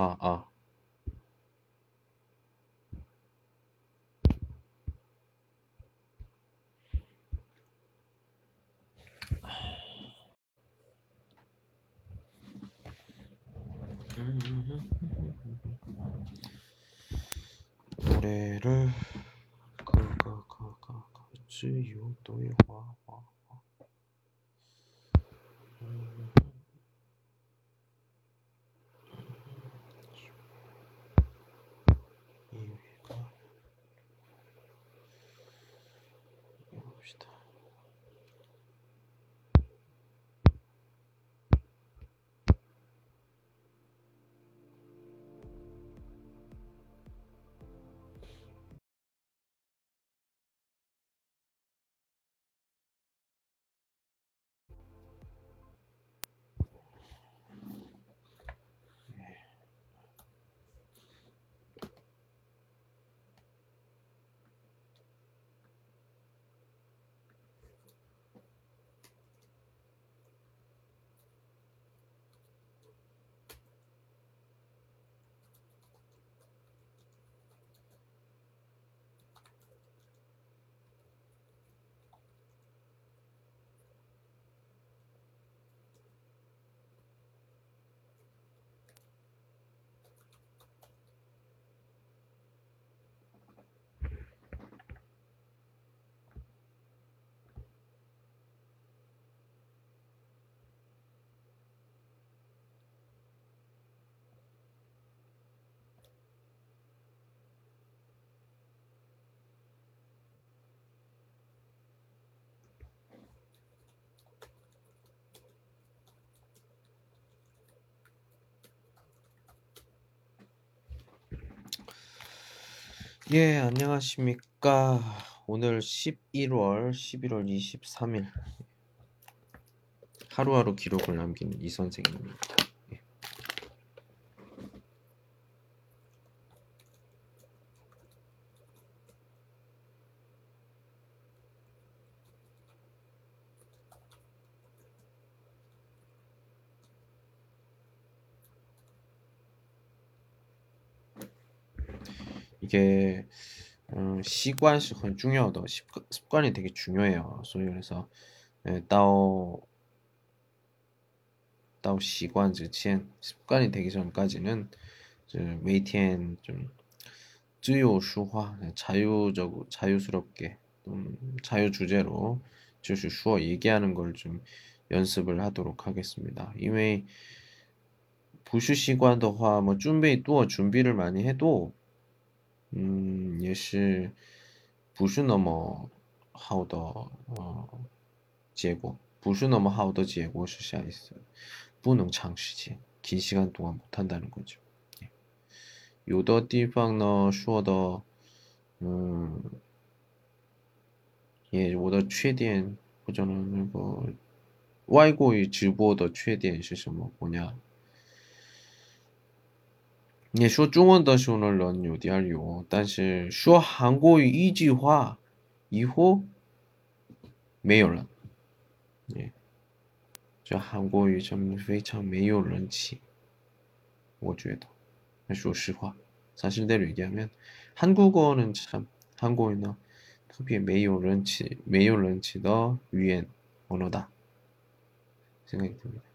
아, 아. 노래를 지유도의 화 이유가 해봅시다. 예, 안녕하십니까. 오늘 11월 23일 하루하루 기록을 남긴 이 선생입니다. 예. 이게 시관 是很 중요하다. 습관이 되게 중요해요. 소위 그래서 예, 到习惯之前 습관이 되기 전까지는 每天좀自由说话 자유스럽게 자유 주제로 就是说 얘기하는 걸 좀 연습을 하도록 하겠습니다. 因为不是习惯的话 뭐 준비를 많이 해도 也是不是那么好的结果，不是那么好的结果是啥意思？不能长时间，긴 시간 동안 못 한다는 거죠. 有的地方呢说的，也我的缺点或者呢那个外国语直播的缺点是什么？뭐냐？你说中文的时候呢，人有点有，但是说韩国语一句话以后没有了。예, 这韩国语真非常没有人气，我觉得。说实话， 사실대로 얘기하면 한국어는 참 한국어는 特别没有人气的 语言 언어다 생각이 듭니다.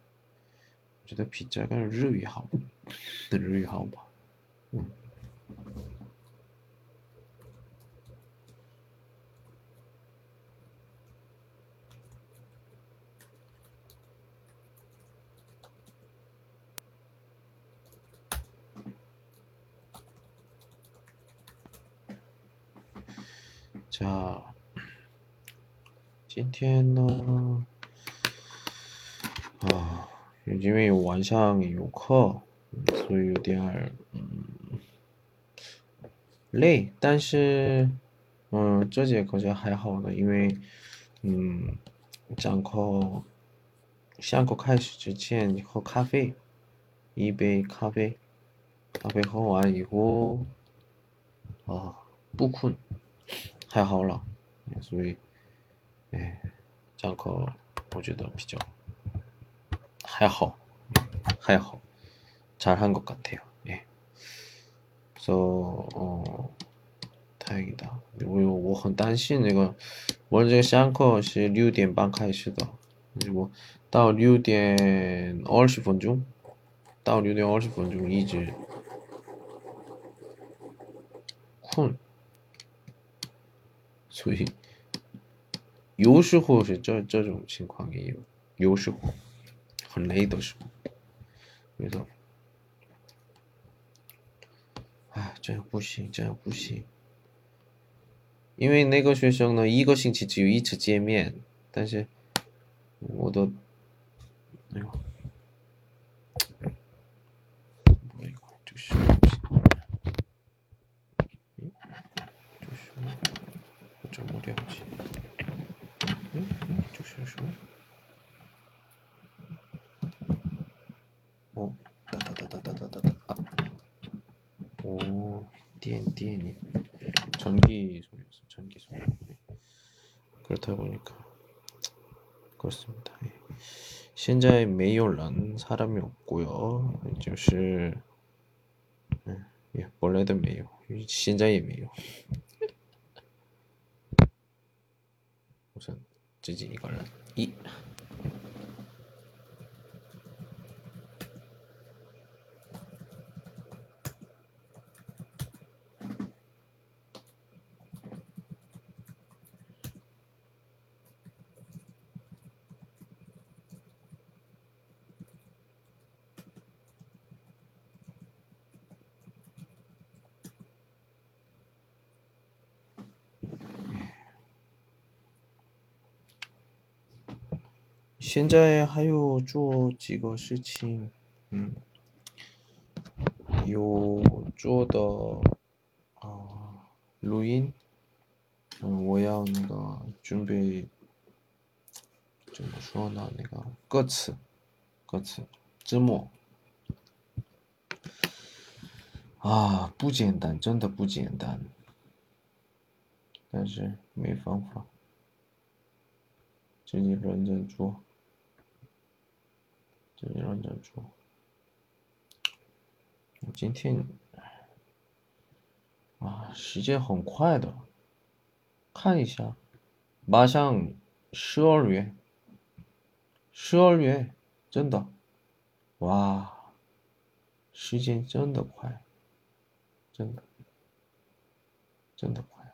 我觉得比这个日语好吧。자, 今天呢，因为晚上有课，所以有点累，但是这节课就还好的，因为讲课上课开始之前喝咖啡，一杯咖啡，咖啡喝完以后不困，还好了，所以讲课我觉得比较还好，잘한 것 같아요. 예. 太给大，我很担心那个，我这个上课是6点半开始的，我到6点20分钟，到6点20分钟一直困，所以有时候是这种情况也有，有时候很累的时候，没错，哎，这样不行，这样不行。因为那个学生呢，一个星期只有一次见面，但是我的，哎呦，哎呦，就是我怎么了解？就是说，哦，哒哒哒哒哒哒哒哒，아 오, 띠엔띠엔이 전기 소리였어, 전기 소리. 그렇다 보니까 그렇습니다. 예. 现在没有人 사람이 없고요. 就是 예, 원래도 没有,现在也没有. 우선 自己一个人. 이现在还有做几个事情，有做的录音，我要那个准备怎么说呢？那个歌词字幕啊，不简单，真的不简单，但是没方法，自己认真做，我今天时间很快的，看一下，马上12月，真的，哇，时间真的快，真的，真的快。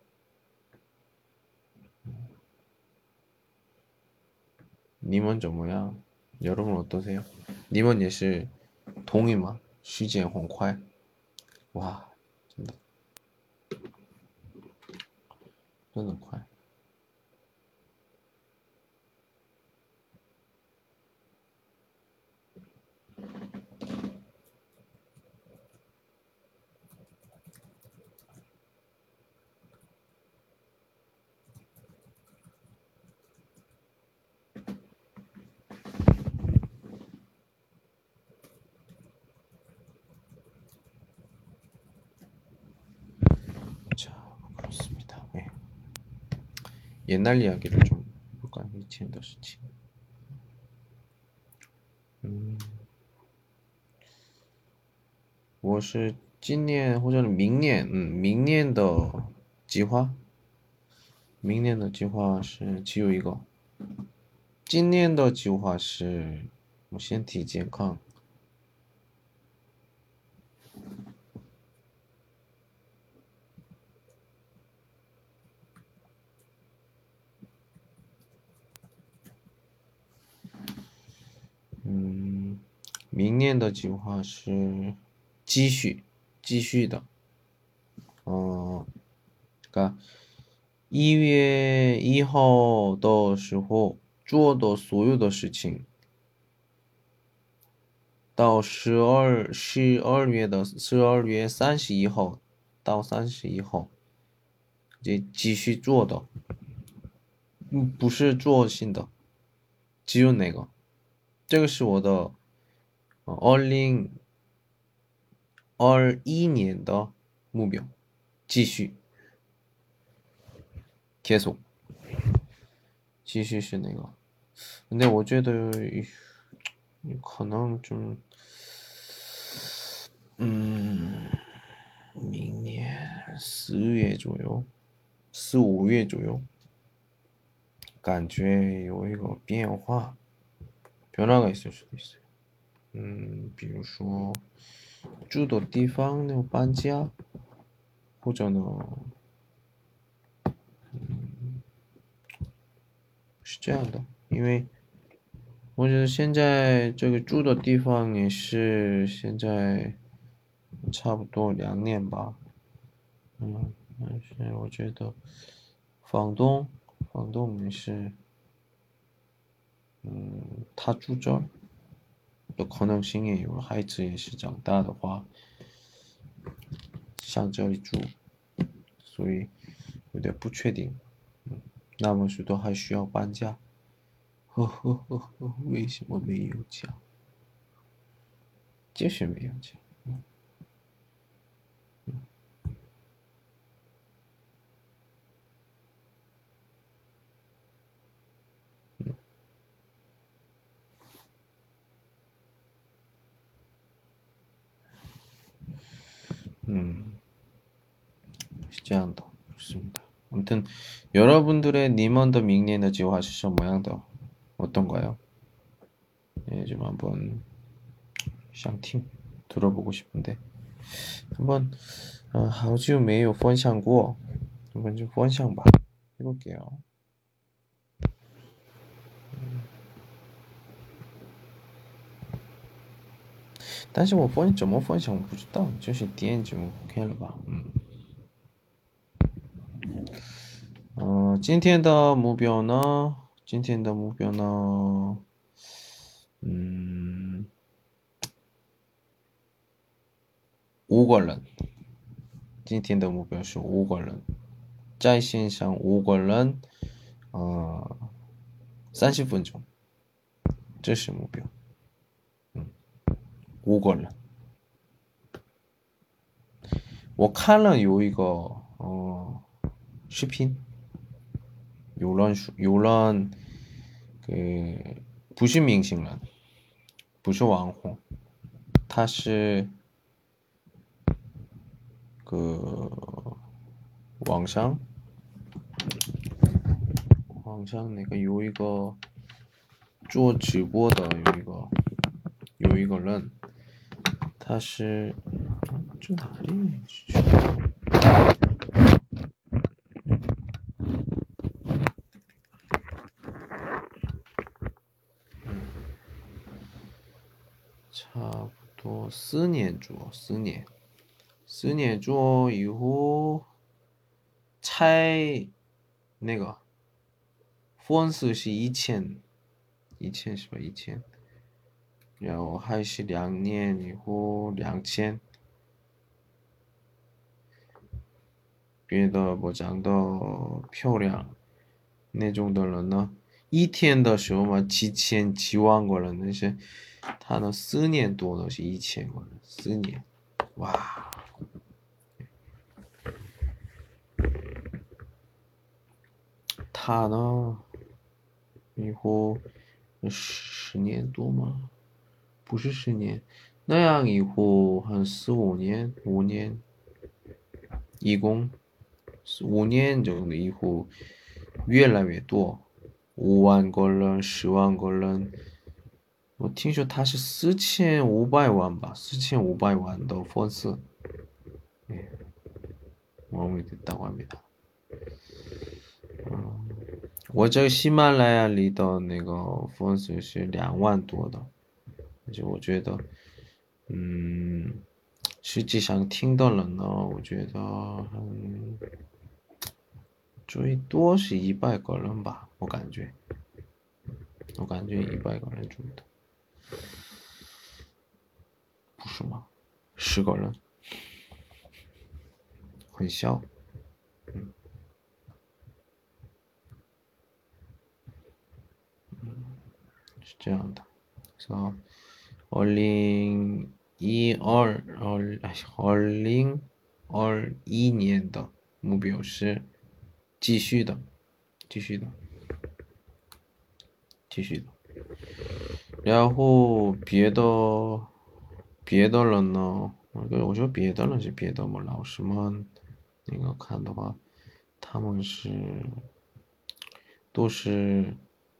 님은 怎么样? 여러분 어떠세요? 님은 也是 동의吗? 时间很快. 와, 真的快. 자, 그렇습니다. 네. 옛날 이야기를 좀 볼까요? 以前的事情. 我是今年或者明年的计划是，今年的计划是我身体健康。明年的计划是继续的，그러니까 1月1号的时候做的所有的事情，到12月31号到31号，继续做的，不是做新的，只有那个，这个是我的2021年的目标，继续계속继续是那个，근데我觉得可能좀 4月左右4、5月左右感觉有一个变化 변화가 있을 수도 있어요. 比如说住的地方有搬家，或者呢，是这样的，因为我觉得现在这个住的地方也是现在差不多2年吧，但是我觉得房东也是，他住这儿的可能性也有，孩子也是长大的话，上这里住，所以有点不确定。那么许多还需要搬家。为什么没有讲？就是没有讲。是这样的，좋습니다. 아무튼 여러분들의 니먼더 밍년의 지화시션 모양도 어떤가요? 예, 좀 한번 샹팅 들어보고 싶은데 한번 好久没有分享过 한번 좀 分享吧 해볼게요. 但是我分怎么分享我不知道，就是点就 OK 了吧。今天的目标呢？5个人。今天的目标是5个人，在线上5个人，30分钟，这是目标。5个人。我看了有一个视频，有人不是明星人，不是网红，他是网上那个有一个做直播的有一个人，他是这哪里？差不多4年做，4年做以后才那个粉丝是1000是吧？1000，然后还是2年以后2000，变得不长得漂亮那种的人呢，一天的时候嘛7000、7万个人，那些他呢4年多的是1000个人，4年，哇！他呢以后10年多吗？不是10年，那样以后还4、5年，5年，一共5年정도以后越来越多，5万个人、10万个人。我听说他是4500万吧，4500万的粉丝，마음이 됐다고 합니다. 我这个喜马拉雅里的那个粉丝是2万多的，就我觉得，实际上听的人呢，我觉得，最多是100个人吧，我感觉100个人左右的，不是吗？10个人，很小，是这样的。그래서 2022年的目标是继续的。然后别的人呢，我觉得别的人是别的嘛，老师们那个看的话，他们都是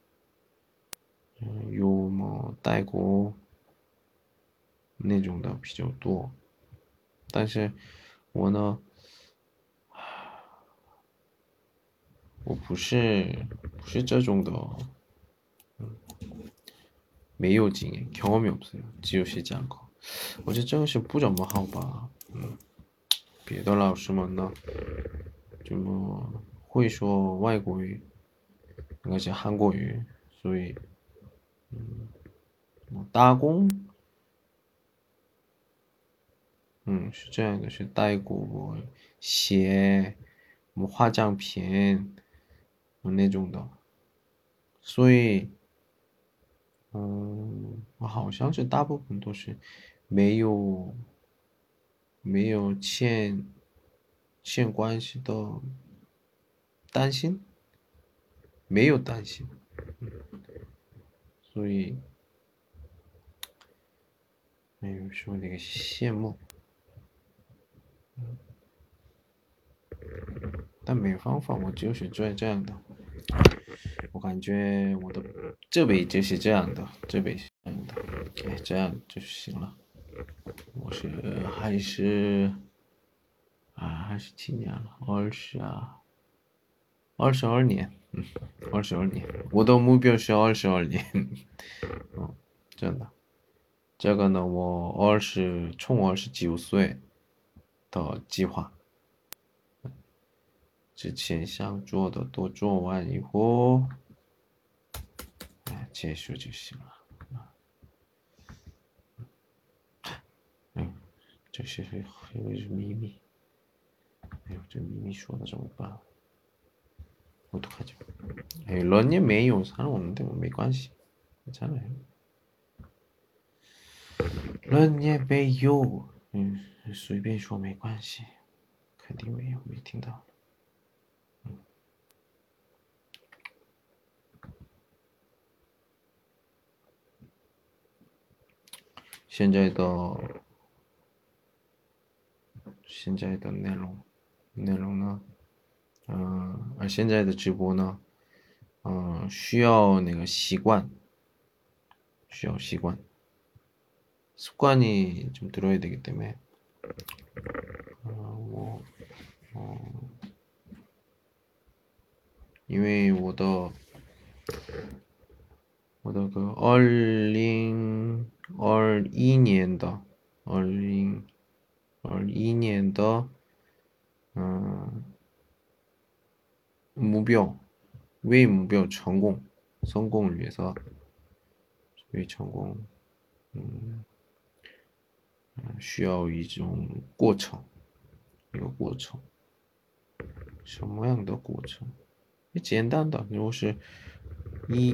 有么带过那种的比较多，但是我呢，我不是这种的，没有经验，경험이 없어요. 지우씨讲课，我觉得这个是不怎么好吧。别的老师们呢，这么会说外国语，应该是韩国语，所以打工，是这样的，是带过写化妆品那种的，所以我好像是大部分都是没有没有欠关系的担心，没有担心，所以没有说那个羡慕，但没方法，我就是这样的。我感觉我的这辈就是这样的，这辈是这样的，哎，这样就行了。我是还是几年了，22年，22年，我的目标是22年，真的。这个呢，我从29岁的计划，之前想做的都做完以后，结束就行了。这是秘密，哎呦，这秘密说的怎么办？어떡하죠？哎，런닝没有상관없는데 뭐没关系，괜찮아요。런닝没有，随便说没关系，肯定没有，没听到。现在的内容呢，而现在的直播呢，需要那个习惯，需要习惯，습관이좀들어야되기때문에我因为我的个2021年的2021年的嗯目标为目标성공을 위해서为成功需要一种过程，一个过程，什么样的过程？简单的，如果是一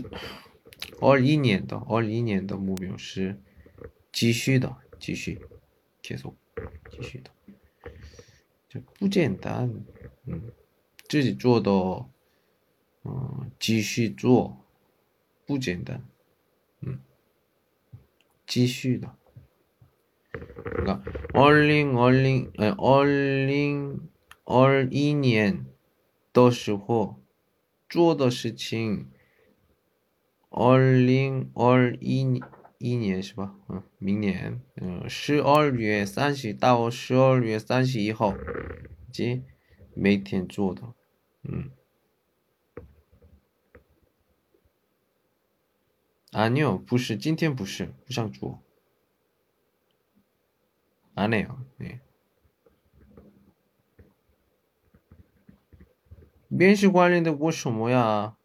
二一年的目标是继续的，继续，继续的，就不简单，自己做的，继续做，不简单，继续的。그러니까2021年的时候做的事情，2021年是吧？明年，12月30到12月31号，及每天做的，아니요，不是，今天不是，不想做，안 해요， 네。 面试관련된过什么呀？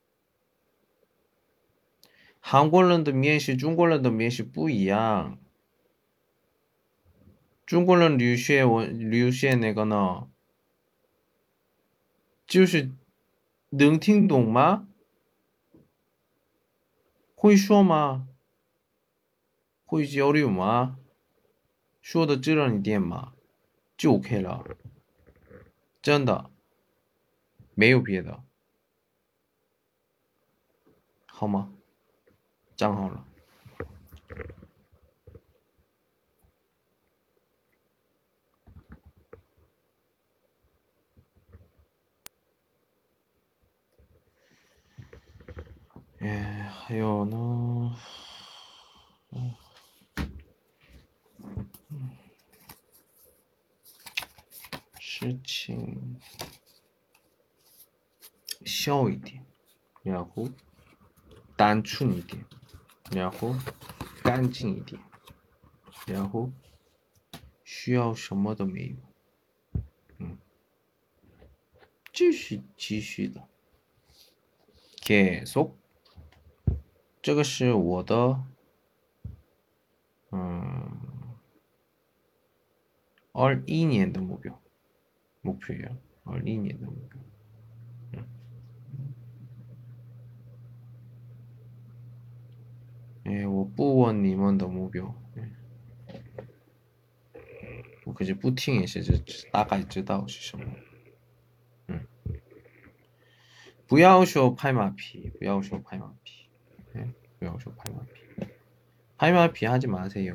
韩国人的面试，中国人的面试不一样。中国人留学那个呢，就是能听懂吗？会说吗？会交流吗？说的自然一点嘛，就 OK 了。真的，没有别的，好吗？讲好了。 还有呢，事情小一点，然后单纯一点，然后干净一点，然后需要什么都没有。继续的，계속。这个是我的，21年的目标呀，21年的目标。我不问你们的目标，我可是不听也是，大概知道是什么。不要说拍马屁，不要说拍马屁，不要说拍马屁，拍马屁하지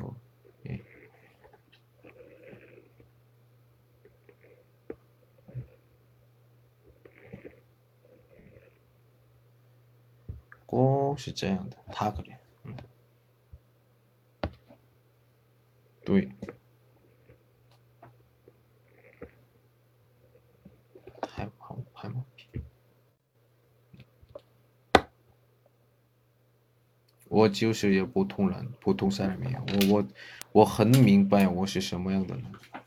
마세요。꼭是这样的，他그래。对，拍马屁。我就是有普通人，普通사람이에요。我很明白我是什么样的人，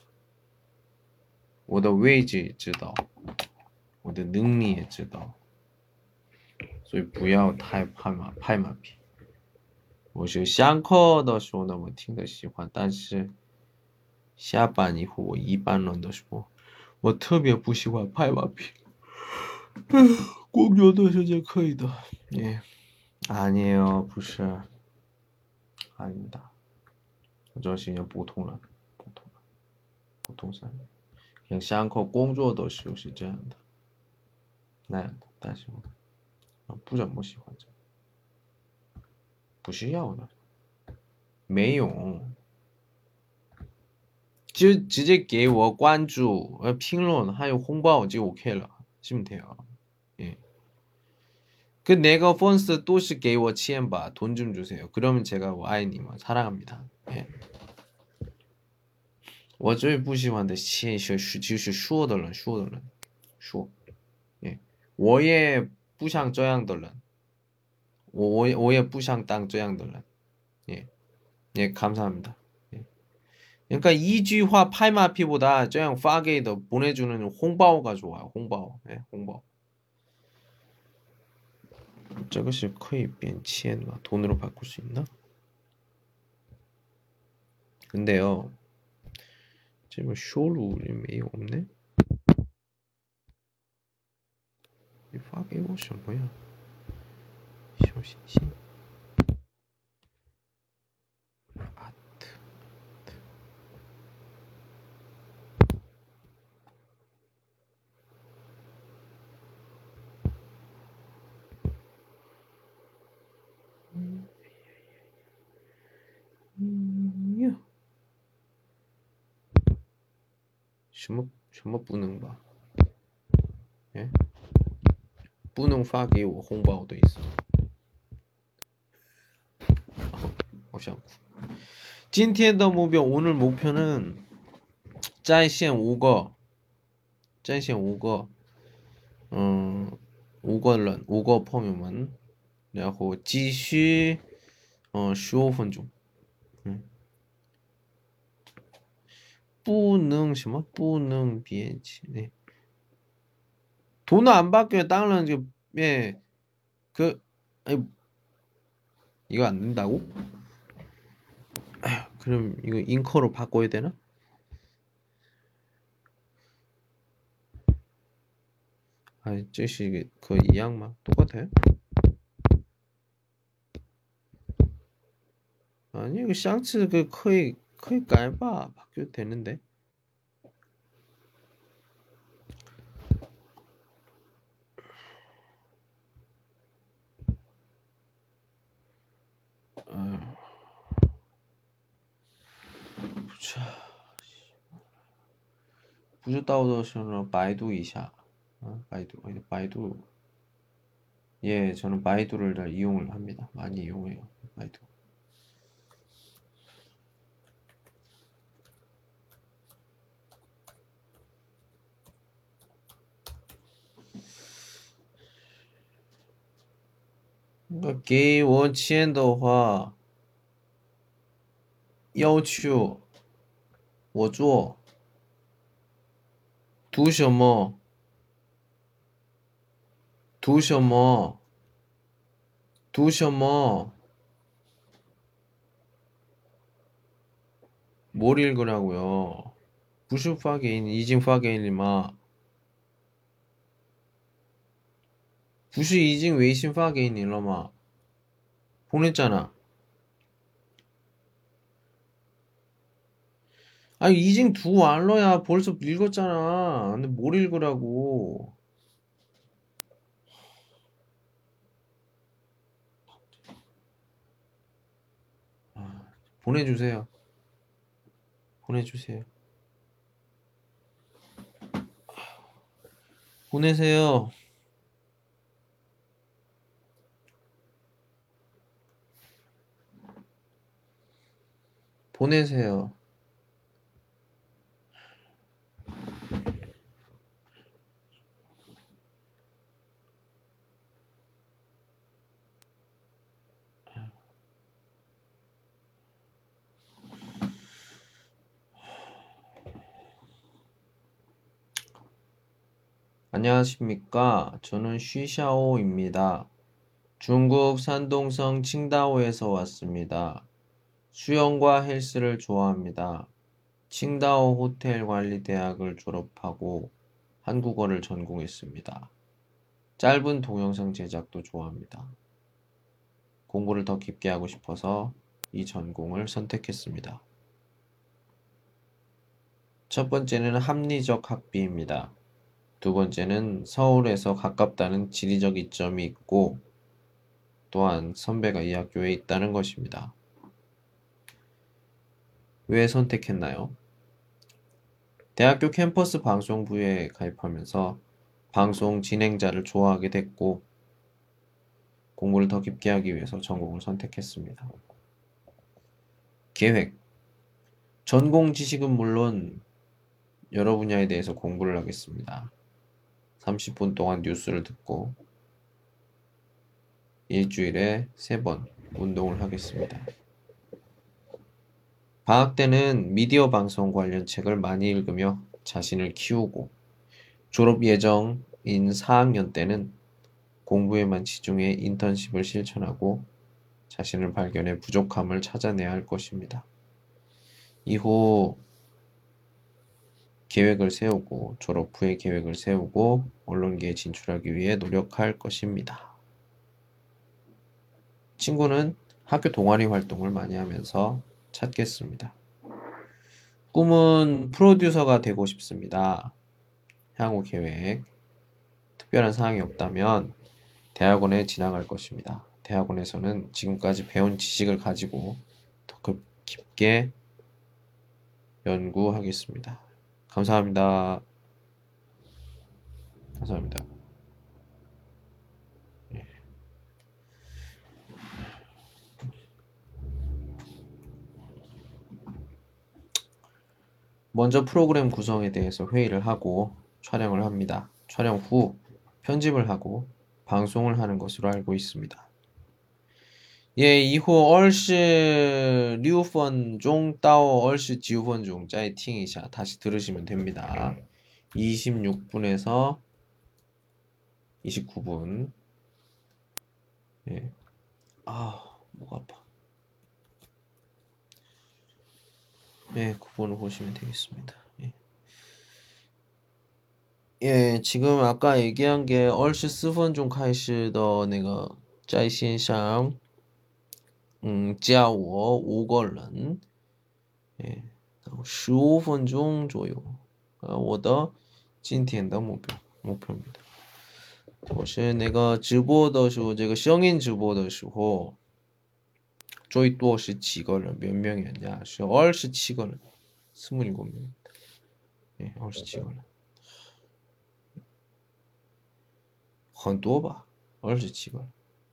我的位置也知道，我的能力也知道，所以不要太拍马屁。我是上课的时候呢，我听得喜欢，但是下班以后我一般人的时候，我特别不喜欢拍马屁。工作的时间可以的，아니에요，不是，아닙니다。我就是一个普通人，普通人。像上课工作的时候是这样的，那样的，但是我不怎么喜欢这，不是要的，没用，就直接给我关注、评论还有红包就 OK 了，是不是啊？그 내가 펀스 또시给我钱吧，돈 좀 주세요. 그러면 제가 아이님을 사랑합니다. 我最不喜欢的就是说的人，我也不想这样的人，我也不想当这样的人。감사합니다. 그러니까 이句话 拍马屁보다这样 发给的 보내주는 홍바오가 좋아요. 홍바오. 홍바오. 这个是可以变钱吗? 돈으로 바꿀 수 있나? 근데요, 지금 쇼루이 없네? 你发给我什么呀？小心心。아트。 呀，什么不能吧？不能发给我红包的意思。好想哭。今天的目标， 오늘 목표는 在线5个， 在线5个， 5个人，5个朋友们，然后继续15分钟。不能什么不能变钱， 돈을 안 받게 당연 이거 안 된다고? 그럼 이거 잉커로 바꿔야 되나? 아니, 这是个一样吗? 똑같아요? 아니, 이거 샹츠 거의 깔바 바뀌어도 되는데.不知道的时候百度一下，百度 예, 저는 바이두를 잘 이용을 합니다. 많이 이용해요. 바이두. 그러니까 给我签的话，要求我做读什么？读什么？读什么？ 뭘 읽으라고요? 不是发给你，已经发给你了吗？不是已经微信发给你了吗？ 보냈잖아. 아니, 이징 두 완러야 벌써 읽었잖아. 근데 뭘 읽으라고. 아, 보내주세요. 보내주세요. 보내세요. 보내세요. 안녕하십니까. 저는 쉬샤오입니다. 중국 산동성 칭다오에서 왔습니다. 수영과 헬스를 좋아합니다. 칭다오 호텔 관리 대학을 졸업하고 한국어를 전공했습니다. 짧은 동영상 제작도 좋아합니다. 공부를 더 깊게 하고 싶어서 이 전공을 선택했습니다. 첫 번째는 합리적 학비입니다. 두 번째는 서울에서 가깝다는 지리적 이점이 있고 또한 선배가 이 학교에 있다는 것입니다. 왜 선택했나요? 대학교 캠퍼스 방송부에 가입하면서 방송 진행자를 좋아하게 됐고 공부를 더 깊게 하기 위해서 전공을 선택했습니다. 계획. 전공 지식은 물론 여러 분야에 대해서 공부를 하겠습니다. 30분 동안 뉴스를 듣고 일주일에 3번 운동을 하겠습니다. 방학 때는 미디어 방송 관련 책을 많이 읽으며 자신을 키우고 졸업 예정인 4학년 때는 공부에만 집중해 인턴십을 실천하고 자신을 발견해 부족함을 찾아내야 할 것입니다. 이후 계획을 세우고 졸업 후에 계획을 세우고 언론계에 진출하기 위해 노력할 것입니다. 친구는 학교 동아리 활동을 많이 하면서 찾겠습니다. 꿈은 프로듀서가 되고 싶습니다. 향후 계획. 특별한 사항이 없다면 대학원에 진학할 것입니다. 대학원에서는 지금까지 배운 지식을 가지고 더 깊게 연구하겠습니다. 감사합니다. 감사합니다. 먼저 프로그램 구성에 대해서 회의를 하고 촬영을 합니다. 촬영 후 편집을 하고 방송을 하는 것으로 알고 있습니다. 예, 이후 26分钟到 29分钟 再听一下 다시 들으시면 됩니다. 26분에서 29분. 예. 아, 목 아파. 예, 9분을 보시면 되겠습니다. 예. 예, 지금 아까 얘기한 게 24分钟 开始的那个在线上加我5个人 예, 15分钟左右我的今天的目标입니다. 我是那个直播的时候这个声音直播的时候最多是几个人몇 명이었냐? 是27个人 27명. 예, 27个人很多吧 27个。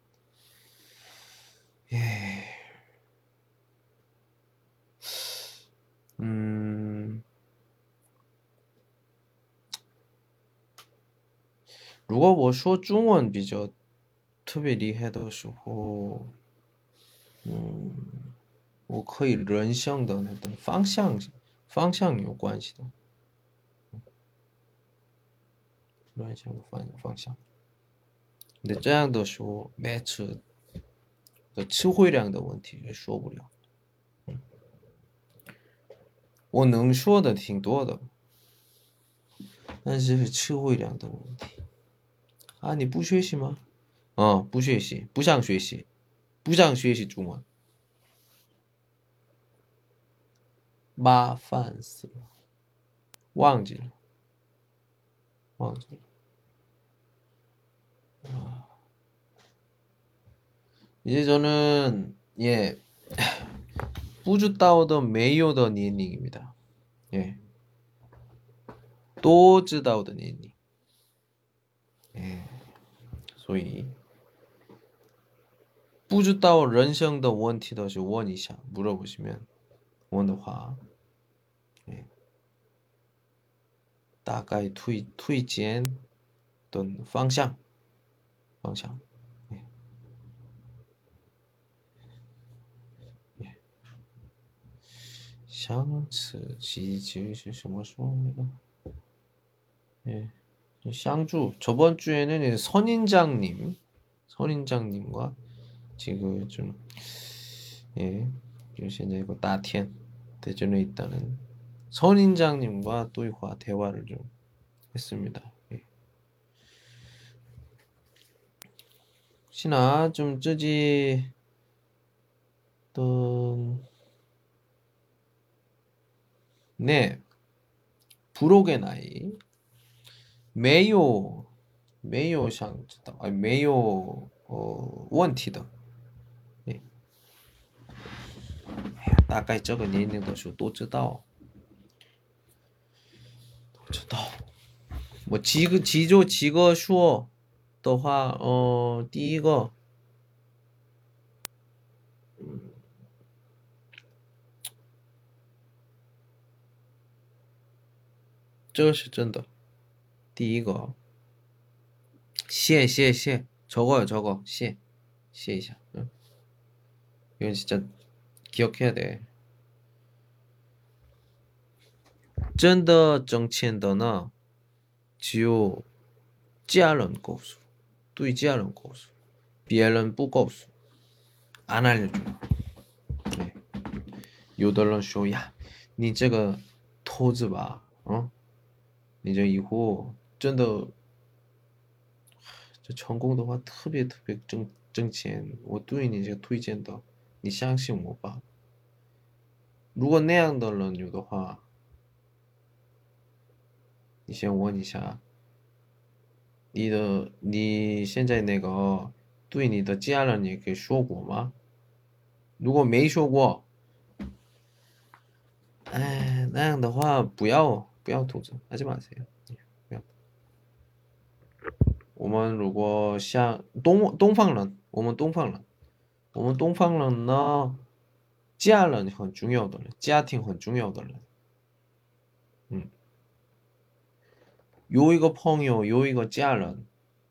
如果我说中文比较特别厉害的时候，我可以人向的那种方向有关系的，人向的方向。那这样的时候，match 的词汇量的问题也说不了。我能说的挺多的，但是词汇量的问题。啊，你不学习吗？不学习，不想学习，不想学习中文，麻烦死了，忘记了。 이제 저는不知道的没有的年龄입니다. 예, 都知道的年龄. 예, 所以不知道人生的问题的时候问一下， 물어보시면 问的话， 예, 大概推荐的方向。相持其实是什么说那个？ 예, 쌍주 저번 주에는 선인장님과 지금 좀 요새는 이거 나티엔 대전에 있다는 선인장님과 또 대화를 좀 했습니다. 예. 혹시나 좀 쯔지 네, 부록의 나이没有想知道，没有问题的。大概这个年龄的时候都知道。我几个说的话，第一个，这个是真的。第一个，谢，저거谢一下。 이건 진짜 기억해야 돼. 真的挣钱的呢，只有家人告诉，对家人告诉，别人不告诉，안 알려줘. 네. 有的人说呀，你这个投资吧，你这以后真的这成功的话，特别挣钱，我对你这个推荐的，你相信我吧。如果那样的人有的话，你先问一下，你现在那个对你的家人也给说过吗？如果没说过，那样的话不要投资，하지 마세요。 不要。我们如果像东方人，我们东方人呢，家人很重要的人，家庭很重要的人。有一个朋友，有一个家人，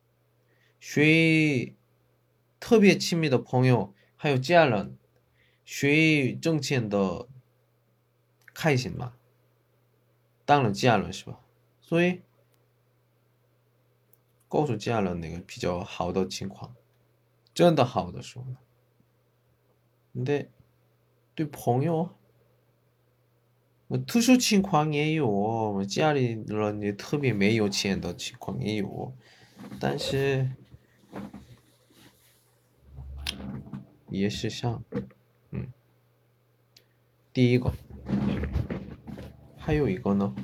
谁特别亲密的朋友，还有家人，谁挣钱的开心嘛？当然家人是吧？所以告诉家人那个比较好的情况，真的好的时候。근데对朋友，我特殊情况也有，我家里人也特别没有钱的情况也有，但是也是像，第一个，还有一个呢，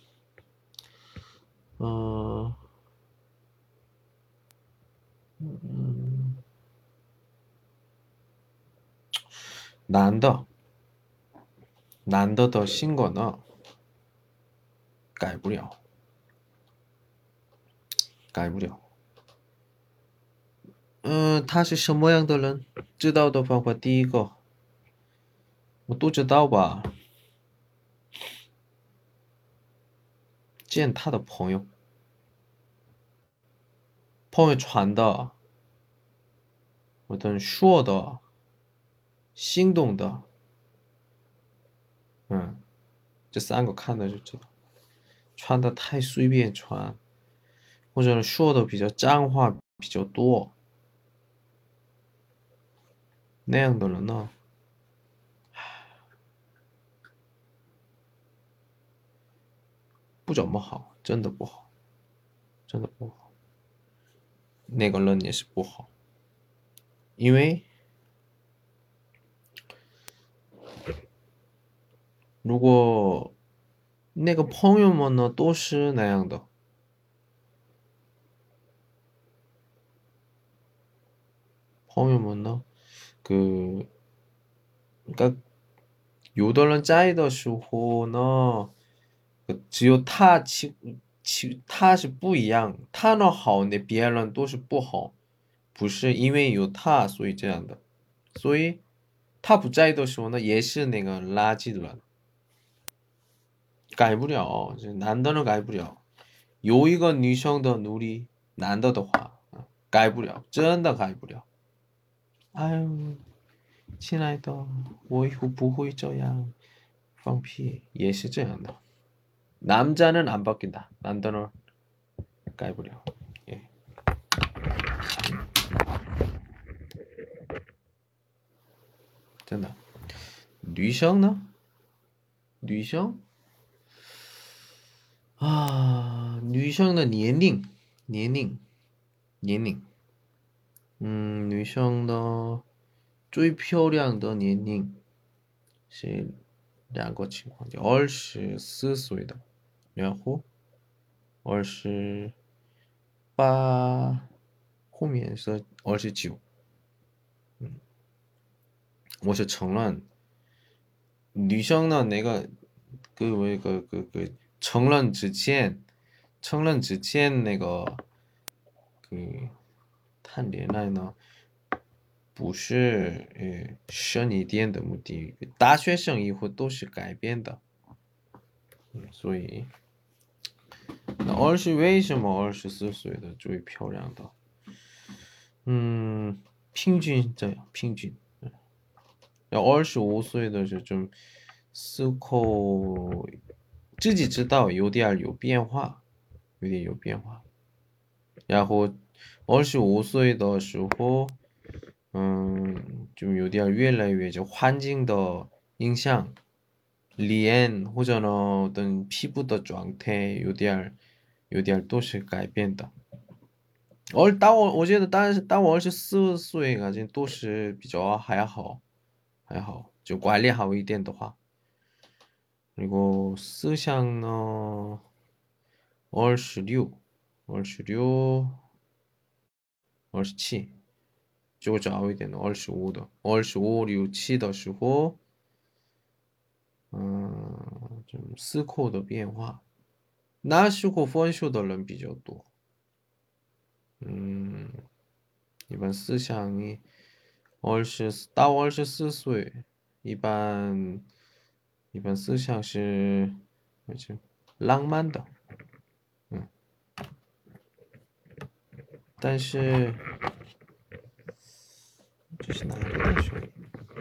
男的的性格呢，改不了。 他是什么样的人？知道的方法，第一个，我都知道吧？见他的朋友，朋友传的，或者说的，心动的，这三个看的就知道。传的太随便传，或者说的比较脏话比较多，那样的人呢，不怎么好，真的不好，真的不好。那个人也是不好，因为如果那个朋友们呢都是那样的，朋友们呢，그 그러니까有的人在的时候呢，只有他是不一样，他呢好，那别人都是不好，不是因为有他所以这样的，所以他不在的时候呢，也是那个垃圾的人，改不了，这男的呢改不了，有一个女生的努力，男的的话，改不了，真的改不了。哎呦，亲爱的，我以后不会这样，放屁也是这样的。 남자는 안 바뀐다. 남자는 改不了. 예. 真的.女生呢?女生? 아, 女生的年龄,年龄,女生的最漂亮的年龄是两个情况，就24岁的，然后28后面是29。我是承认，女生呢那个承认之前那个谈恋爱呢，不是深一点的目的，大学生以后都是改变的，所以那为什么24岁的最漂亮的？平均这样，平均。要25岁的这种思考，自己知道有点有变化，有点有变化。然后25岁的时候，就有点越来越就环境的影响，脸或者呢等皮肤的状态有点都是改变的。我觉得，当我24岁，感觉都是比较还好，就管理好一点的话，그리고思想呢，26、26、27，就早一点的25的，25、6、7的时候，就思考的变化，那时候分手的人比较多，一般思想到24岁，一般思想是浪漫的，但是这是哪里的声音？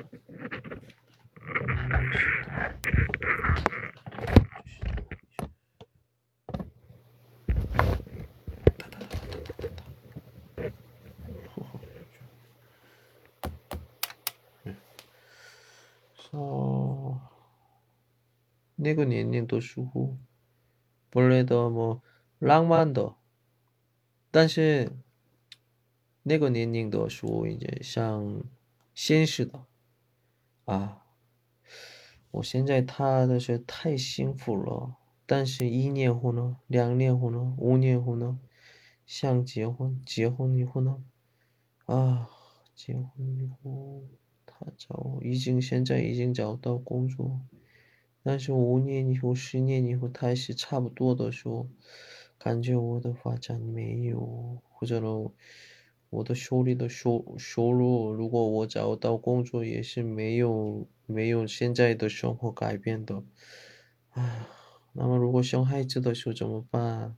哦，那个年龄的时候，本来的浪漫的，但是那个年龄的时候，已经像现实的啊。我现在他的是太幸福了，但是1年后呢，2年后呢，5年后呢，想结婚，结婚以后呢，啊，结婚以后现在已经找到工作，但是5年以后、10年以后，他是差不多的时候，感觉我的发展没有，或者呢， 我的手里的收入，如果我找到工作，也是没有现在的生活改变的。唉，那么如果生孩子的时候怎么办？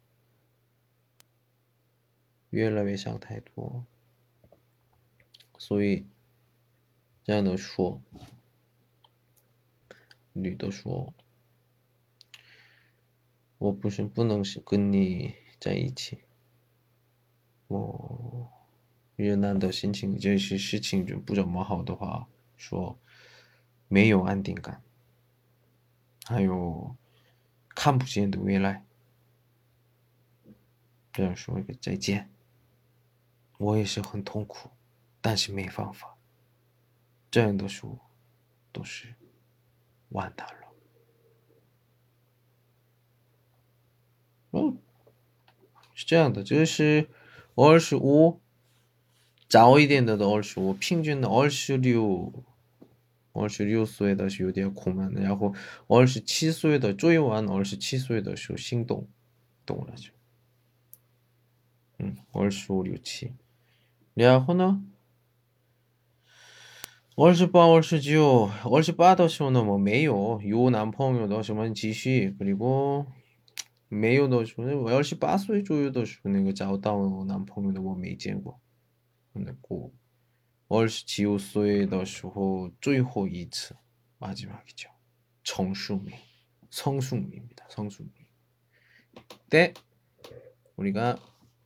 越来越想太多，所以这样的说，女的说，我不是不能是跟你在一起，我越南的心情这些事情就不怎么好的话，说没有安定感，还有看不见的未来，这样说一个再见，我也是很痛苦，但是没办法，这样的说都是完蛋了。嗯，是这样的，就是25，早一点的25，平均的26岁的时候有点苦闷，然后27岁的最晚27岁的时候心动，懂了就，25、27，然后呢，28、29、28的时候呢，我没有男朋友的时候继续，그리고没有的时候，我28岁左右的时候那个找到男朋友的我没见过，그리고 29岁的时候最后一次마지막이죠. 정수미, 성수미입니다. 성수미. 때 우리가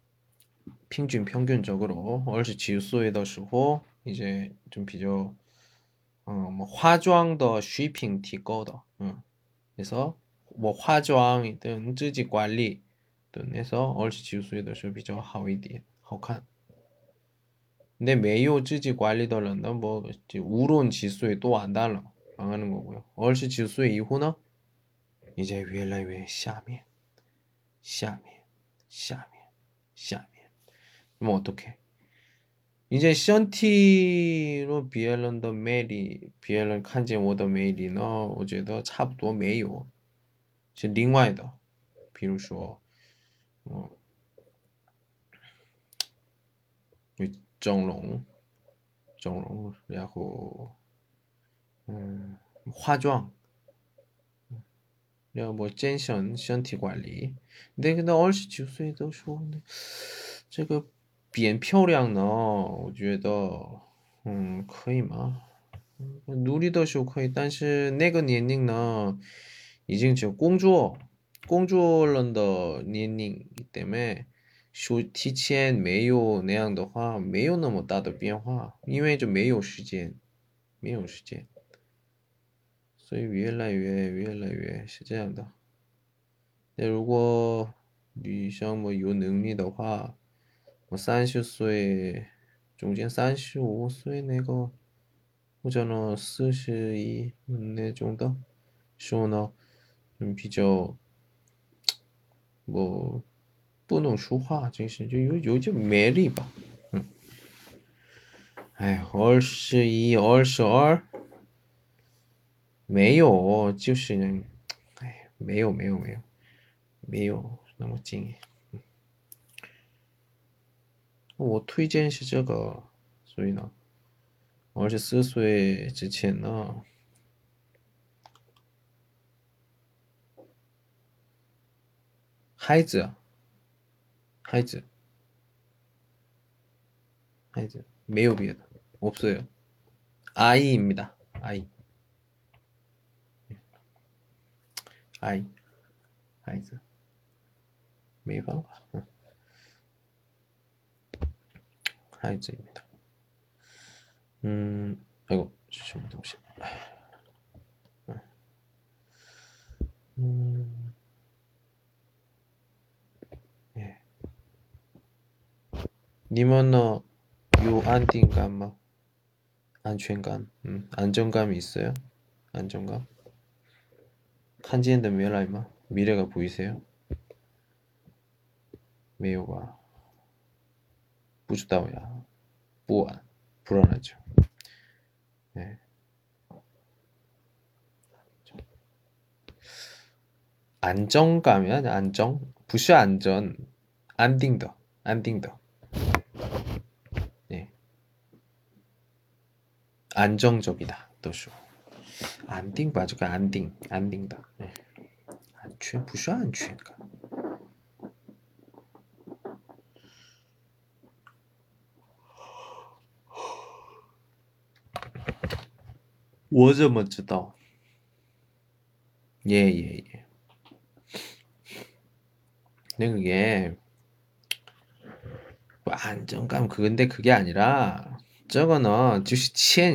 평균적으로 29岁的时候 이제 좀 비교 뭐 화장的 水平提高的, 그래서 뭐 화장이든 自己管理든 해서 29岁的时候比较好一点, 好看. 근데 매우 찌지 관리더라는 뭐 우론 지수에 또 안 달라 망하는 거고요. 얼시 지수의 이후는 이제 越来越下面,下面,下面,下面. 그럼 어떡해? 이제 션티로 비엘런 더 메리, 비엘런 칸진 오더 메리는 我觉得差不多没有，是另外的，比如说，整容，然后化妆，然后我健身身体管理。那个29岁的时候呢，这个变漂亮呢，我觉得可以吗？努力的时候可以，但是那个年龄呢，已经就工作了的年龄때문에提前没有那样的话，没有那么大的变化，因为就没有时间，没有时间，所以越来越是这样的。那如果女生么有能力的话，我30岁，中间35岁那个，或者呢42那种的，说呢，比较我不能说话，真是就有点魅力吧。哎，21、22没有，就是哎，没有那么近。我推荐是这个，所以呢，24岁之前呢，孩子啊，孩子，孩子，没有别的，없어요。 아이입니다. 아이, 아이, 아이즈. 没办法, 아이즈입니다. 아이고, 什么东西? 예. 님은 요 안정감, 뭐, 안全感, 안정감이 있어요? 안정감? 한지엔드 미래이마? 미래가 보이세요? 没有吧? 不知道呀. 不安, 불안하죠. 네. 안정감이야? 안정? 不是안전, 안딩더, 안딩더. 안정적이다. 都说 안定吧，这个安定的，安全不是安全感。我怎么知道？예. 그게 뭐 안정감 근데 그게 아니라 저거는就是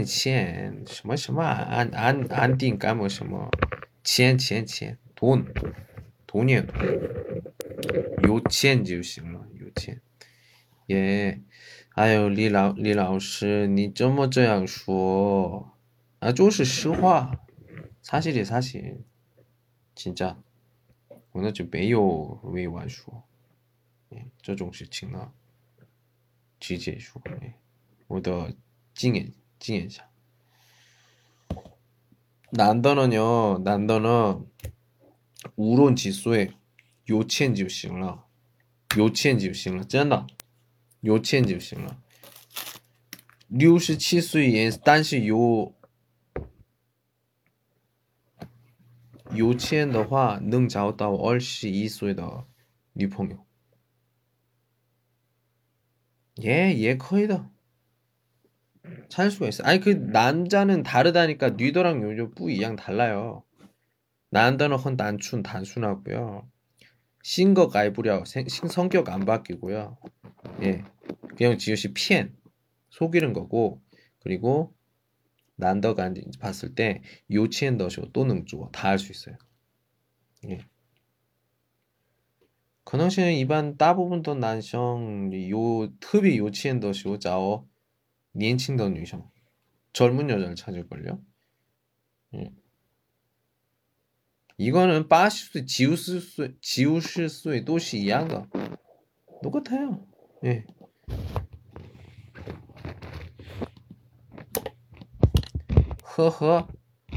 钱什么什么安定感뭐什么钱돈이에요 돈有钱就行了有钱예 아유李老师你怎么这样说啊就是实话사실이 사실 진짜 我那就没有委婉说这种事情呢直接说我的经验下难的呢无论几岁有钱就行了有钱就行了真的有钱就行了67岁也但是有钱的话能找到21岁的女朋友也可以的찾을 수가 있어 아니 그 남자는 다르다니까 뉘더랑 요즘 뿌이양 달라요 난더는 헌 단순하고요 신거 가이부려 성격 안 바뀌고요 예 그냥 지읒이 피엔 속이는 거고 그리고 난더가 봤을 때 요치엔 더쇼 또는 주어 다 할 수 있어요 예 可能是一般大部分的男生有特别有钱的时候找年轻的女生 젊은 여자를 찾을걸요? 예. 이거는 빠시수, 지우실수의 도시 이양가 똑같아요. 예. 허허.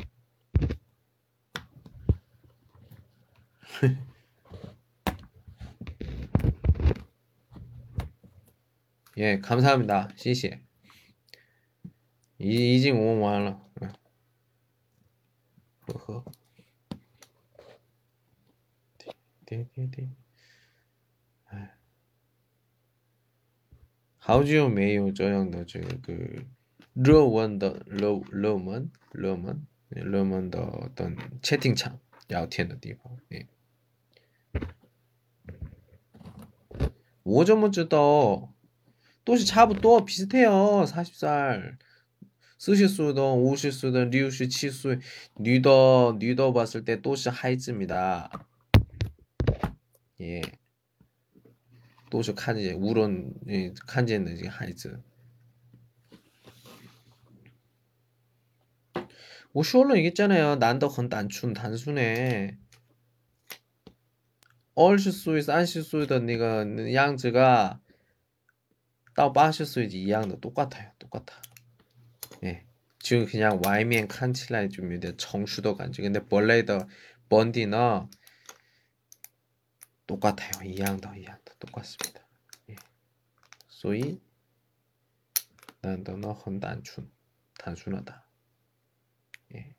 예, 감사합니다. 시시. 이징 오만 완了. 허허. 对，哎，好久没有这样的这个热门的热门的어떤 채팅창 聊天的地方。 我怎么知道都是差不多 비슷해요. 40살 40岁든 50岁든 67岁 女的봤을 때 都是孩子입니다. 예. 都是看见 우론 看见的这个孩子。我说了 얘기했잖아요. 난도很 단순해. 20岁 30岁的那个样子가到80岁 一样的 똑같아요. 똑같아. 예. 지금 그냥 外面看起来좀有点成熟的感觉. 근데 원래의 본디는 똑같아요. 一样的 똑같습니다. 예. 所以 난도는 很 단순하다. 예.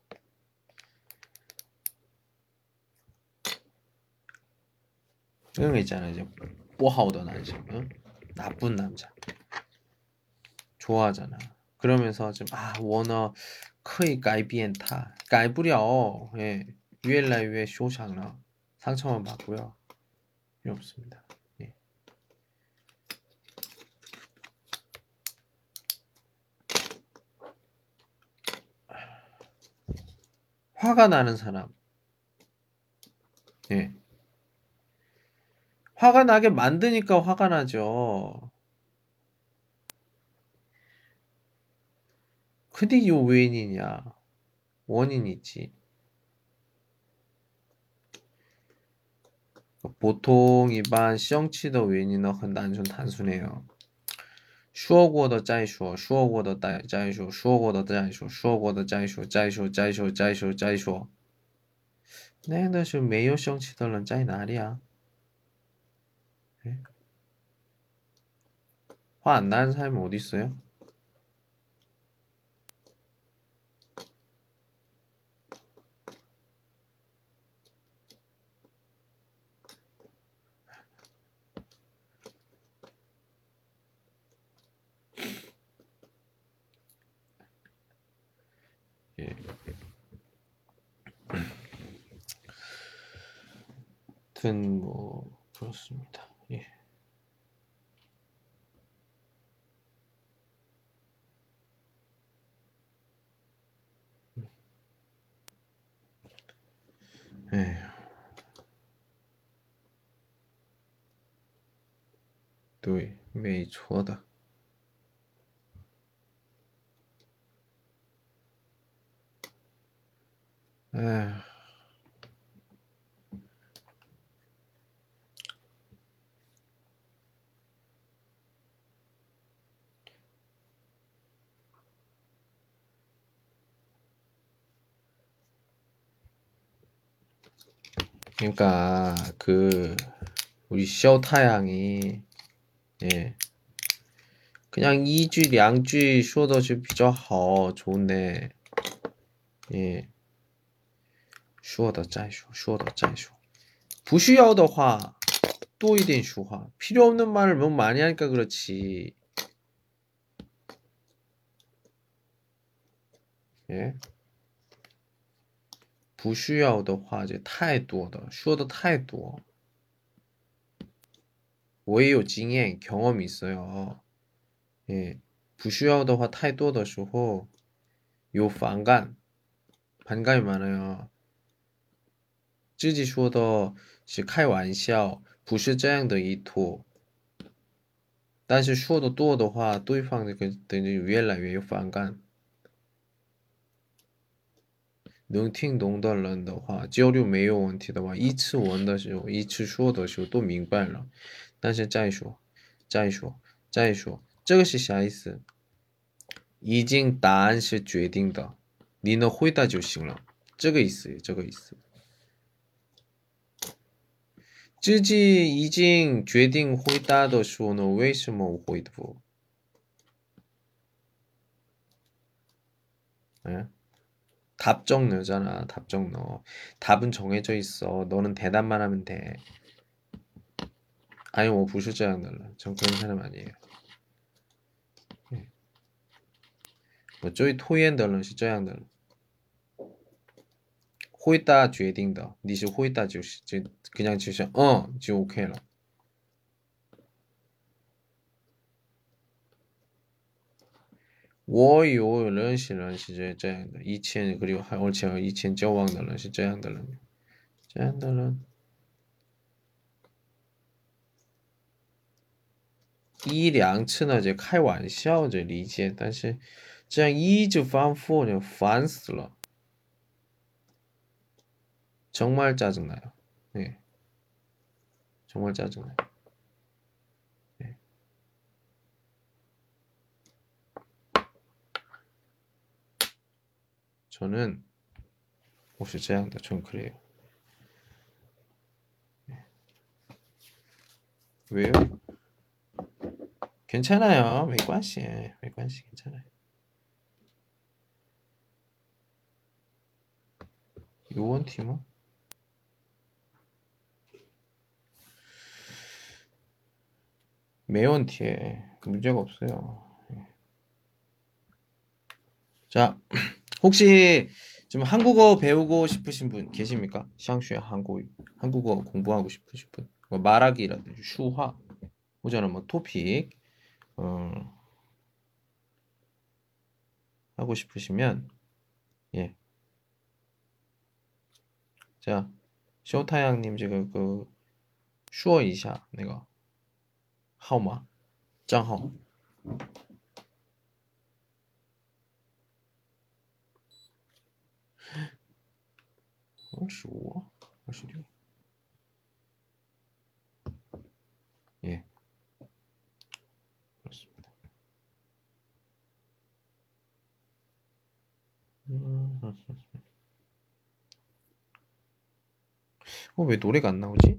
그런 거 있잖아요. 이제 不好的男生, 응? 나쁜 남자. 좋아하잖아. 그러면서 좀 원어 可以改变他改不了 예. 越来越受伤了 상처만 받고요. 필요 없습니다. 예. 화가 나는 사람. 예. 화가 나게 만드니까 화가 나죠. 근데 이거 원인이냐? 원인이 있지. 보통 일반 시험치의 원인은 很 단순해요. 说过的再说说过的再说说过的再说说过的再说再说再说再说 那那是没有生气的人在哪里啊？화 안 나는 사람이 어디 있어요? 아무튼 뭐 그렇습니다. 예. 예. 对，没错的。 에휴, 그러니까 그 우리 쇼타양이 예 그냥 一句两句说的是比较好 좋은데 예 说的再说不需要的话多一点说话 필요 없는 말을 너무 많이 하니까 그렇지. 예 不需要的话就太多的说的太多 我也有经验 경험이 있어요. 예 不需要的话太多的时候有 반감이 많아요. 自己说的是开玩笑不是这样的意图但是说的多的话对方就越来越有反感 能听懂的人的话交流没有问题的话一次问的时候一次说的时候都明白了但是再说这个是啥意思已经答案是决定的你能回答就行了这个意思自己已经决定回答的时候呢为什么回复예? 답정 너잖아 답정 너 답은 정해져 있어 너는 대답만 하면 돼 아니 我不是这样的人전 그런 사람 아니에요 我最讨厌的人是这样的人回答决定的你是回答就是就그냥就像就 OK 了我有认识人是这样的以前그리고而且以前交往的人是这样的人这样的人一两次呢就开玩笑就理解但是这样一直反复就烦死了 정말 짜증나요. 네. 정말 짜증나요. 네. 저는 혹시 这样的 전 그래요. 네. 왜요? 괜찮아요. 没关系 괜찮아요. 有问题吗? 매问题 문제가 없어요. 자, 혹시 좀 한국어 배우고 싶으신 분 계십니까? 샹슈의 한국어 공부하고 싶으신 분. 뭐 말하기라든지 슈화, 혹은 뭐 토픽 하고 싶으시면 예. 자, 쇼타양님 지금 그 슈어 이샤 내가 号码账号 25, 26. 예, 그렇습니다. 왜 노래가 안 나오지?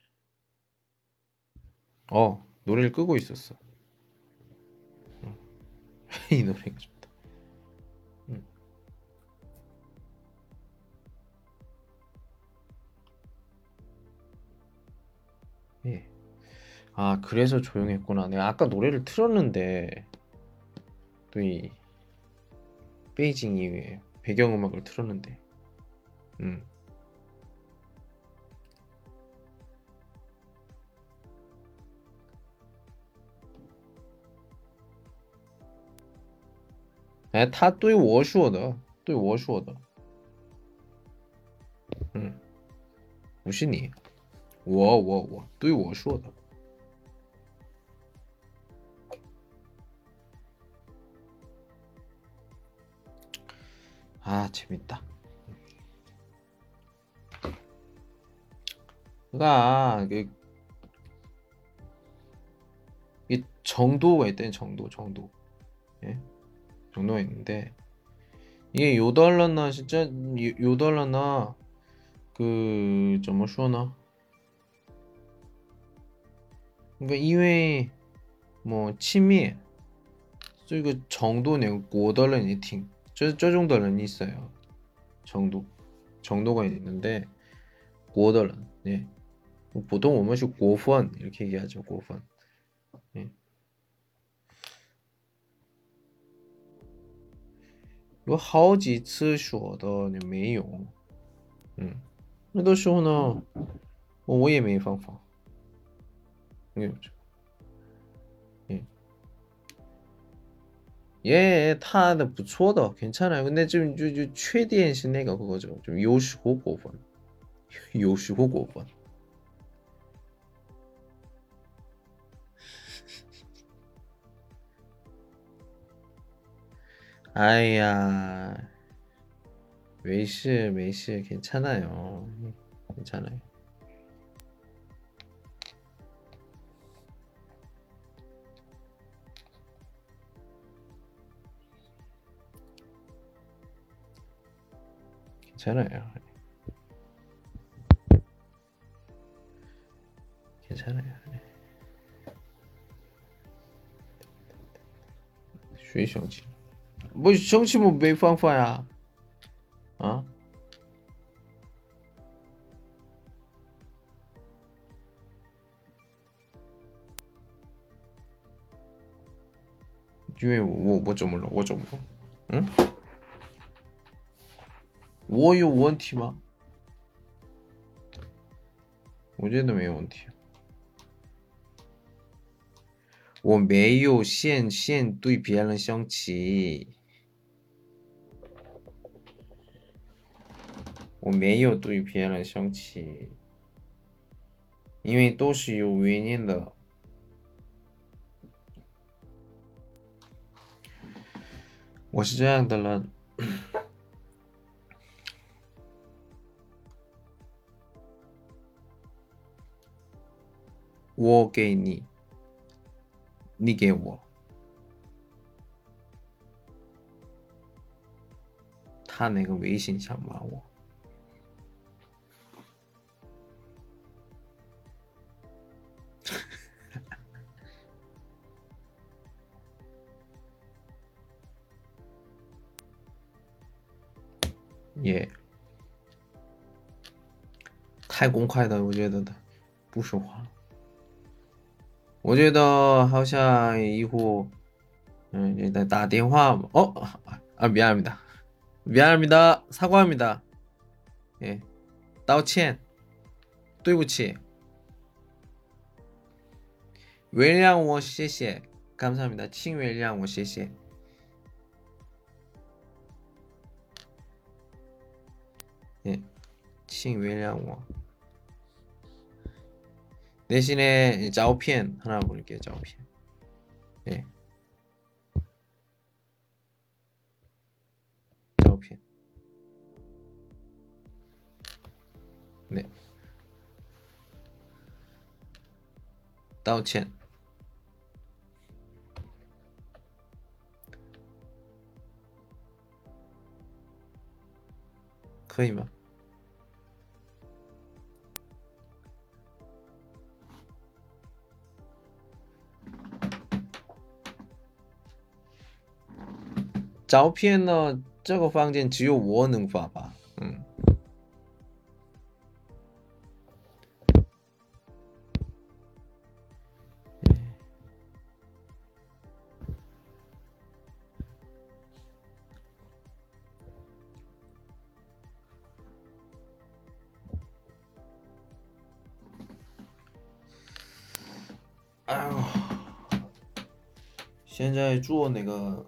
노래를 끄고 있었어. 이 노래가 좋다. 예. 아, 그래서 조용했구나. 내가 아까 노래를 틀었는데 또 이 베이징 이후에 배경음악을 틀었는데.哎，他对我说的，对我说的，不是你，我对我说的。아 재밌다. 그러니까 이 정도가 있대 정도. 예? 정도가 있는데 이게 요달러나 진짜 요달러나 그怎么说呢? 그러니까 이외에 뭐 치매 这个 정도는 国的人一听这种的人 있어요. 정도가 있는데 国的人 예. 보통 我们是国分 이렇게 얘기하죠. 国分 예. 有好几次说的你没有那个时候呢我也没方法예, 타는 不错的 괜찮아요. 근데 좀缺点是 那个 그거죠. 좀 有时候过分有时候过分아이야, 没事 괜찮아요. 괜찮아요. 괜찮아요. 괜찮아요. 谁生气？不生气我没方法呀。啊？因为我怎么了？我怎么了？我有问题吗？我觉得没有问题。我没有线对别人生气，我没有对别人生气，因为都是有原因的。我是这样的人，我给你，你给我，他那个微信想骂我。也太公开的，我觉得的不说话。我觉得好像一会打电话미안합니다. 미안합니다. 사과합니다. 예, 道歉. 对不起. 原谅我,谢谢. 감사합니다. 请原谅我,谢谢. 예, 请原谅我. 대신에 照片 하나 볼게요. 照片. 예. 照片. 네. 道歉. 可以吗？照片呢？这个房间只有我能发吧？ 哎呦，现在做那个，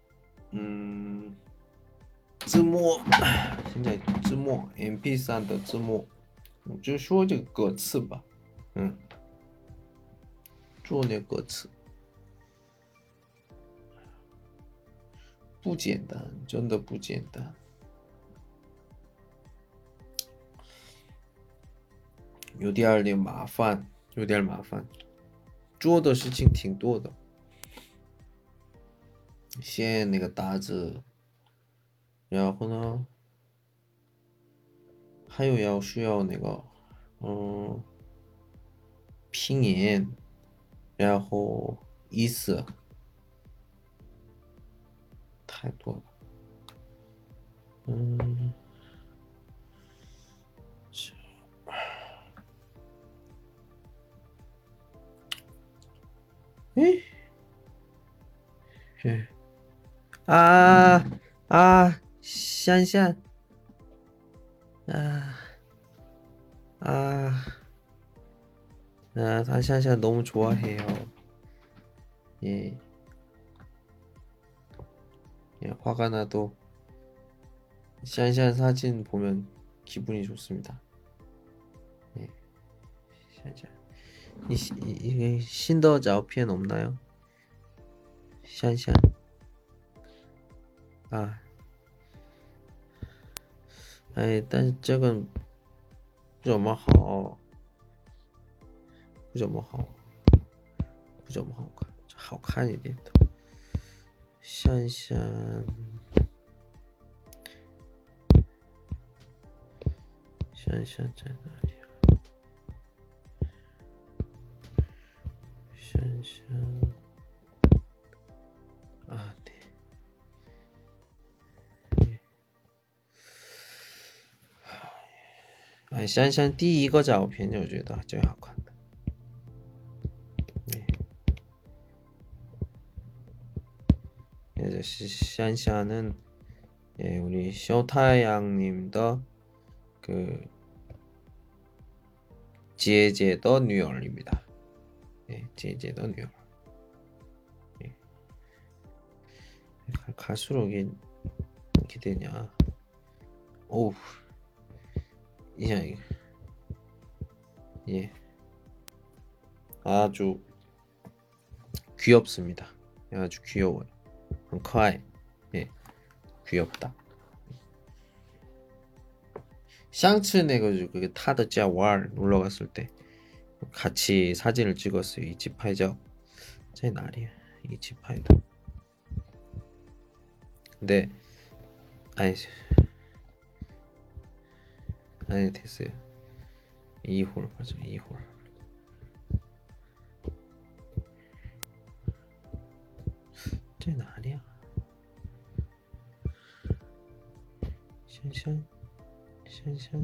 字幕，现在字幕 MP3的字幕，就说这个歌词吧，做那歌词不简单，真的不简单，有点麻烦，有点麻烦，做的事情挺多的，先那个打字，然后呢，还有需要那个，嗯，拼音，然后意思太多了，嗯，诶，是啊啊，香香啊啊他香香너무 좋아해요. 예, 예, 화가 나도 샹샹 사진 보면 기분이 좋습니다. 예, 샹샹. 신더 자오피엔 없나요? 샹샹. 아, 예, 不怎么好，不怎么好看。香香，香香在哪里啊？香香啊，对，哎，香香第一个照片就觉得最好看的。 그래서 샨샤는 예, 우리 쇼타양님의 그 지혜제더 뉴얼입니다. 예, 지혜제더 뉴얼. 예. 갈수록 이렇게 되냐? 오우, 이상 예, 아주 귀엽습니다. 아주 귀여워요. 很可爱. 예, 귀엽다. 샹츠 내가지고 그게 타드자 왈 놀러 갔을 때 같이 사진을 찍었어요. 이치파이죠. 제 날이야. 이치파이다. 근데 아니 됐어요. 2홀 맞아 2홀. 제 날이야. 샹샹 샹샹.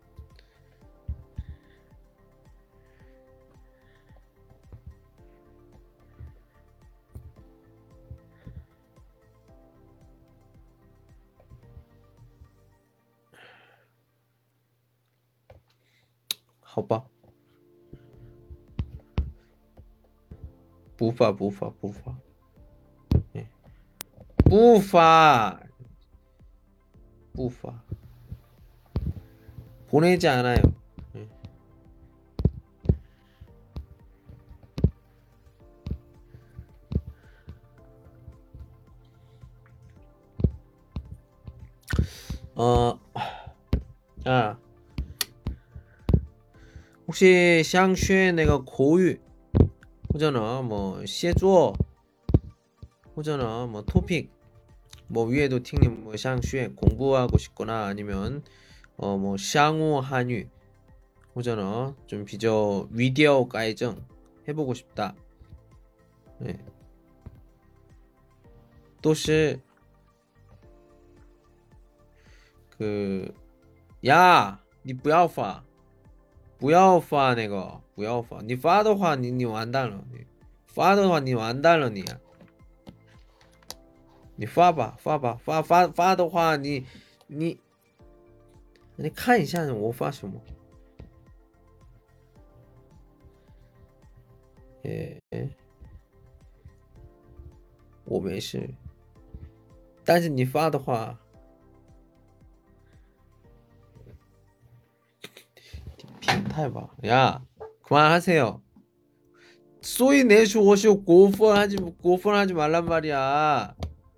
허바 부파 예. 부파 보내지 않아요. 예. 아 혹시 샹쉐 내가 고유 호잖아 뭐 시조 호잖아 뭐 토픽 뭐 위에도 팅님 뭐 샹쉐 공부하고 싶거나 아니면 뭐 샹우 한유 호잖아 좀 비저 위디오 가이정 해보고 싶다. 네. 都是 그 야, 你不要发那个，不要发，你发的话你完蛋了，你发的话你完蛋了你，你发吧，发的话你看一下我发什么， 예. 我没事，但是你发的话，变态吧？야, 그만하세요. 소위 내시 오시오 고펀하지 말란 말이야.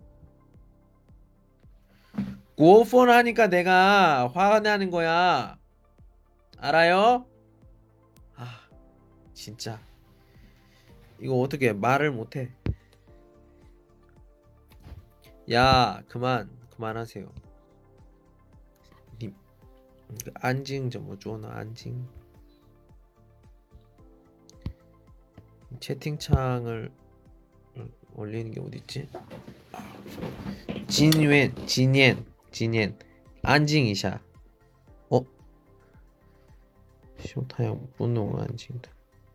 고펀하니까 내가 화가 나는 거야. 알아요? 아, 진짜 이거 어떻게 말을 못해? 야, 그만하세요. 님, 안징 좀 줘너 안징. 채팅창을 올리는 게 어디 있지? 진옌 안징이샤. 어? 쇼타형 분노 안징다.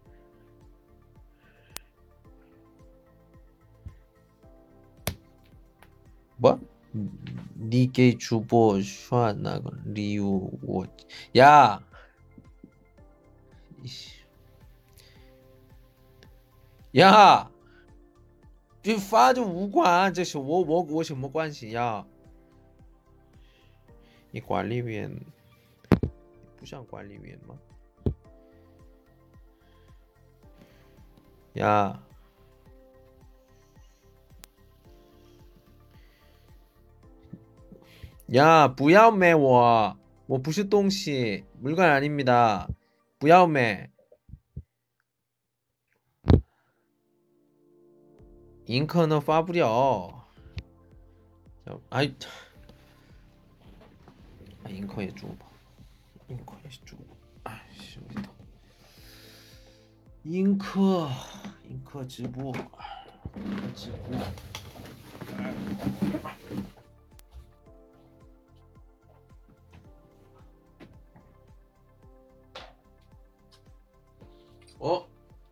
뭐? 니게 주보 슈아나 리우 워. 야, 야, 这发就无关，这是我什么关系呀？你管理员不像管理员吗？ 야, 야, 不要卖我不是东西， 물건 아닙니다. 不要卖. 잉커는发不了. 아이, 잉커也 줘봐. 잉커也 줘봐. 아이씨, 어디다. 잉커直播.直播. 어?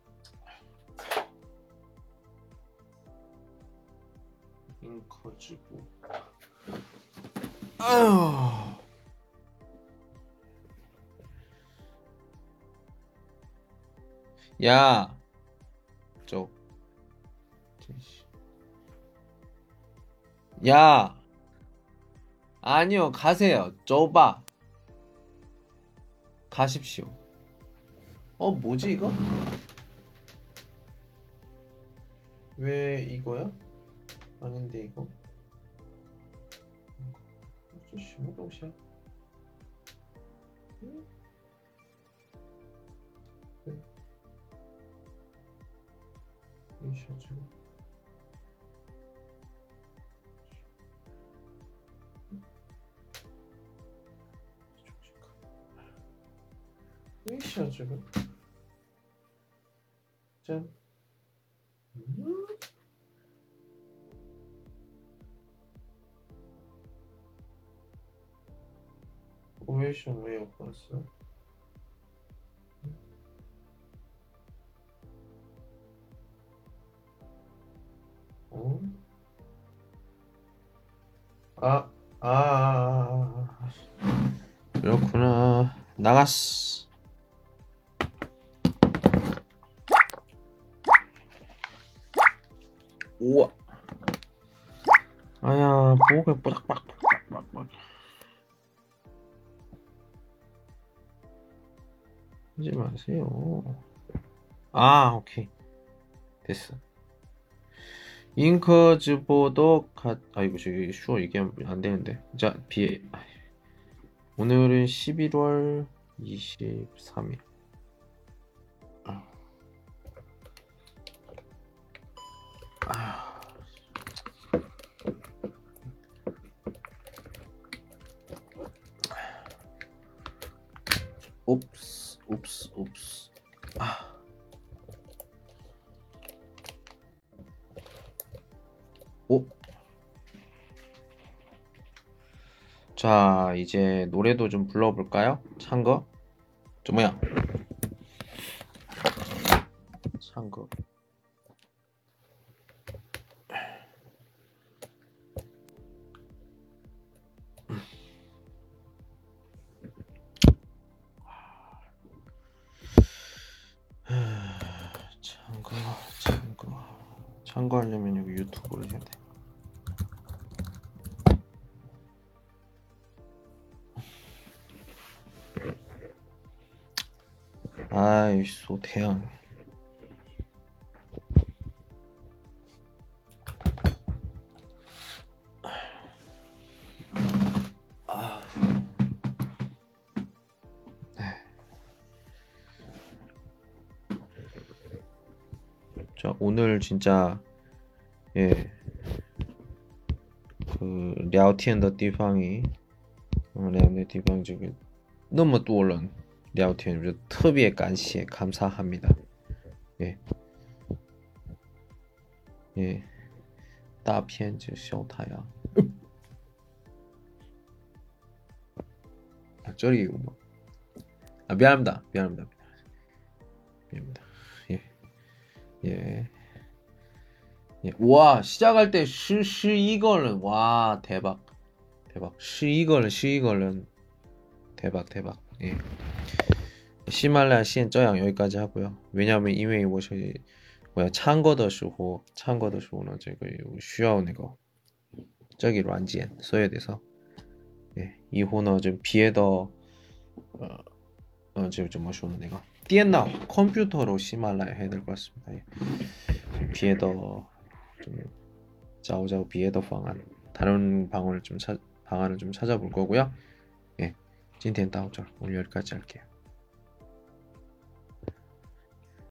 잉커直播. 아휴. 야, 야, 아니요, 가세요. 줘봐. 가십시오. 뭐지 이거? 왜 이거야? 아닌데 이거?这什么东西啊？对，一小这个。一小这个。짠. 왜什么没有发色？ 어? 아, 그렇구나. 나갔어. 우와. 아야, 목에 빡빡빡빡빡. 하지 마세요. 오케이. 됐어. 잉커즈보도 아이고 저기 슈어 얘기하면 안 되는데. 자, 오늘은 11월 23일. 옵스. 자, 이제 노래도 좀 불러볼까요? 찬 거? 뭐야? 찬 거. 찬 거. 참고하려면 여기 유튜브를 해야 돼. 아이, 소태양. 자, 오늘 진짜 예, 그聊天的地方이聊天的地方这个那么多人聊天，就特别感谢감사합니다. 예, 예, 大片就小太阳. 아, 저리 뭐. 아, 미안합니다. 미안합니다. 예, 예. 예. 와, 시작할 때 이거는 와, 대박. 대박. 이거는 대박. 예. 히말라야 시엔 저양 여기까지 하고요. 왜냐면 이메일 워시 뭐야 참거的时候는这个需要那个这个软件所以돼서 예, 이후는 좀 비에더 지금 좀 뭐쇼는 내가 电脑 컴퓨터로 히말라야 해야 될 것 같습니다. 예. 비에더 좀 자오자오 비에더 방안 다른 방안을 좀 찾아볼 거고요. 예, 今天到这儿 오늘 여기까지 할게요.